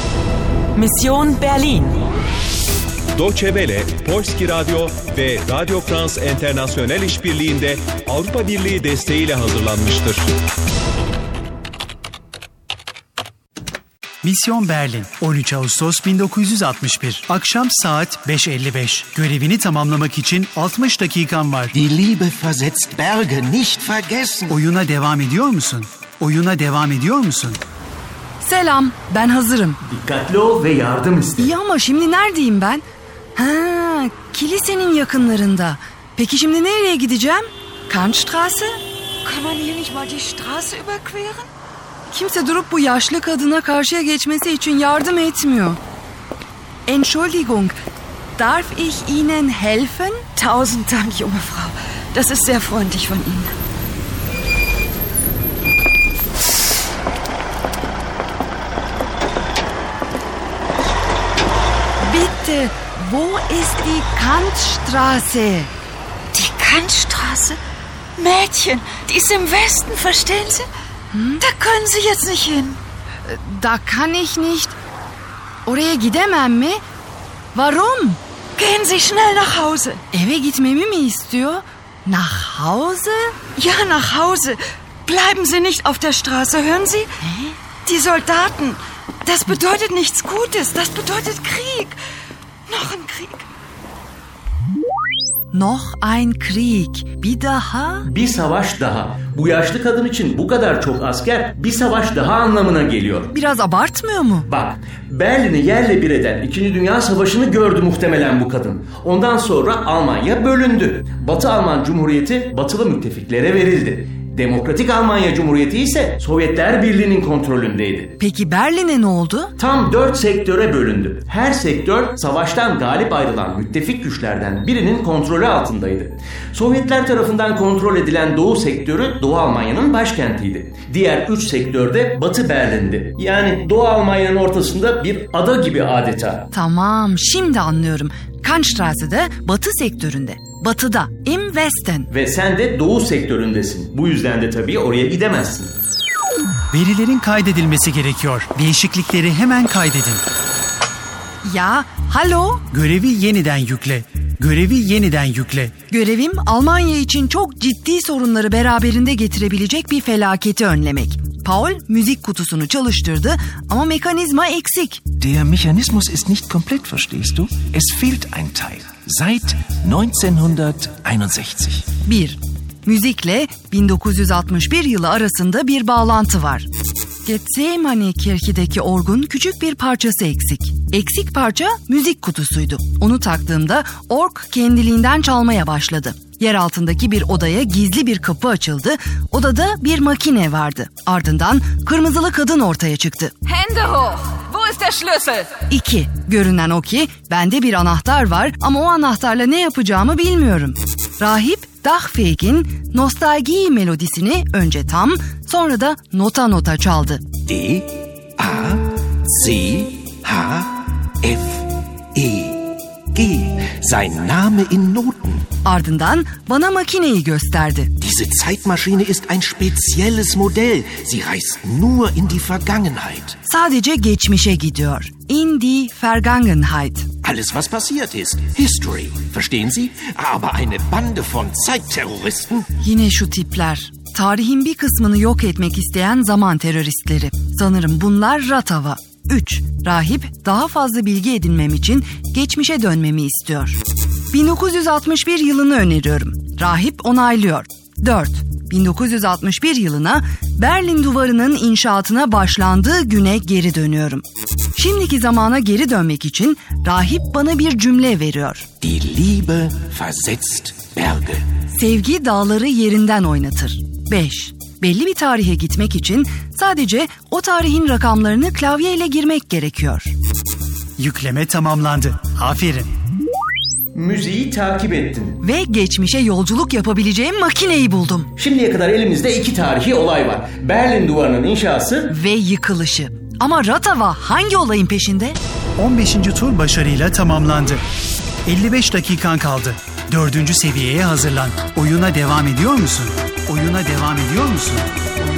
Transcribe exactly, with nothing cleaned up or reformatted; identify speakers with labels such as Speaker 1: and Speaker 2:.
Speaker 1: Mission Berlin.
Speaker 2: Deutsche Welle, Polski Radyo ve Radio France International işbirliğinde Avrupa Birliği desteğiyle hazırlanmıştır.
Speaker 3: Mission Berlin, on üç Ağustos bin dokuz yüz altmış bir. Akşam saat beş elli beş. Görevini tamamlamak için altmış dakikan var.
Speaker 4: Die Liebe versetzt Berge, nicht vergessen.
Speaker 3: Oyuna devam ediyor musun? Oyuna devam ediyor musun?
Speaker 5: Selam, ben hazırım.
Speaker 6: Dikkatli ol ve yardım iste.
Speaker 5: İyi ama şimdi neredeyim ben? Ha, kilisenin yakınlarında. Peki şimdi nereye gideceğim? Kantstraße?
Speaker 7: Kann man hier nicht mal die Straße überqueren?
Speaker 5: Kimse durup bu yaşlı kadına karşıya geçmesi için yardım etmiyor. Entschuldigung, darf ich Ihnen helfen?
Speaker 7: Tausend Dank, junge Frau. Das ist sehr freundlich von Ihnen.
Speaker 5: Bitte, wo ist die Kantstraße?
Speaker 7: Die Kantstraße? Mädchen, die ist im Westen, verstehen Sie? Hm? Da können Sie jetzt nicht hin.
Speaker 5: Da kann ich nicht. Oraya gidemem mi? Warum?
Speaker 7: Gehen Sie schnell nach Hause.
Speaker 5: Eve gitmemi mi istiyor? Nach Hause?
Speaker 7: Ja, nach Hause. Bleiben Sie nicht auf der Straße, hören Sie?
Speaker 5: Hä?
Speaker 7: Die Soldaten, das bedeutet nichts Gutes, das bedeutet Krieg. Noch ein Krieg.
Speaker 5: Noch ein Krieg. Bir daha?
Speaker 6: Bir savaş daha. Bu yaşlı kadın için bu kadar çok asker bir savaş daha anlamına geliyor.
Speaker 5: Biraz abartmıyor mu?
Speaker 6: Bak, Berlin'i yerle bir eden İkinci Dünya Savaşı'nı gördü muhtemelen bu kadın. Ondan sonra Almanya bölündü. Batı Alman Cumhuriyeti batılı müttefiklere verildi. Demokratik Almanya Cumhuriyeti ise Sovyetler Birliği'nin kontrolündeydi.
Speaker 5: Peki Berlin'e ne oldu?
Speaker 6: Tam dört sektöre bölündü. Her sektör savaştan galip ayrılan müttefik güçlerden birinin kontrolü altındaydı. Sovyetler tarafından kontrol edilen Doğu sektörü Doğu Almanya'nın başkentiydi. Diğer üç sektör de Batı Berlin'di. Yani Doğu Almanya'nın ortasında bir ada gibi adeta.
Speaker 5: Tamam, şimdi anlıyorum. Kantstraße'de Batı sektöründe. Batıda, im Westen.
Speaker 6: Ve sen de Doğu sektöründesin. Bu yüzden de tabii oraya gidemezsin.
Speaker 3: Verilerin kaydedilmesi gerekiyor. Değişiklikleri hemen kaydedin.
Speaker 5: Ya, hallo?
Speaker 3: Görevi yeniden yükle. Görevi yeniden yükle.
Speaker 5: Görevim Almanya için çok ciddi sorunları beraberinde getirebilecek bir felaketi önlemek. Paul müzik kutusunu çalıştırdı ama mekanizma eksik.
Speaker 4: Der Mechanismus ist nicht komplett, verstehst du? Es fehlt ein Teil. Seit neunzehnhunderteinundsechzig.
Speaker 5: bir. Müzikle bin dokuz yüz altmış bir yılı arasında bir bağlantı var. Getsemani Kirki'deki orgun küçük bir parçası eksik. Eksik parça müzik kutusuydu. Onu taktığımda org kendiliğinden çalmaya başladı. Yer altındaki bir odaya gizli bir kapı açıldı. Odada bir makine vardı. Ardından kırmızılı kadın ortaya çıktı.
Speaker 8: Hände hoch! Wo ist der Schlüssel?
Speaker 5: İki. Görünen o ki bende bir anahtar var ama o anahtarla ne yapacağımı bilmiyorum. Rahip Dachfeg'in Nostalgie melodisini önce tam, sonra da nota nota çaldı.
Speaker 4: D, A, C, H, F, E, G. Sein Name in Noten.
Speaker 5: Ardından bana makineyi gösterdi.
Speaker 4: Diese Zeitmaschine ist ein spezielles Modell. Sie reist nur in die Vergangenheit.
Speaker 5: Sadece geçmişe gidiyor. In die Vergangenheit.
Speaker 4: Alles, was passiert ist. History. Verstehen Sie? Aber eine Bande von Zeitterroristen.
Speaker 5: Yine şu tipler. Tarihin bir kısmını yok etmek isteyen zaman teröristleri. Sanırım bunlar Ratava. üç. Rahip daha fazla bilgi edinmem için geçmişe dönmemi istiyor. bin dokuz yüz altmış bir yılını öneriyorum. Rahip onaylıyor. dört. bin dokuz yüz altmış bir yılına Berlin Duvarı'nın inşaatına başlandığı güne geri dönüyorum. Şimdiki zamana geri dönmek için rahip bana bir cümle veriyor.
Speaker 4: Die Liebe versetzt Berge.
Speaker 5: Sevgi dağları yerinden oynatır. beş. Belli bir tarihe gitmek için sadece o tarihin rakamlarını klavyeyle girmek gerekiyor.
Speaker 3: Yükleme tamamlandı. Aferin.
Speaker 6: Müziği takip ettin.
Speaker 5: Ve geçmişe yolculuk yapabileceğim makineyi buldum.
Speaker 6: Şimdiye kadar elimizde iki tarihi olay var. Berlin Duvarı'nın inşası
Speaker 5: ve yıkılışı. Ama Ratava hangi olayın peşinde?
Speaker 3: on beşinci tur başarıyla tamamlandı. elli beş dakikan kaldı. Dördüncü seviyeye hazırlan. Oyuna devam ediyor musun? Oyuna devam ediyor musun?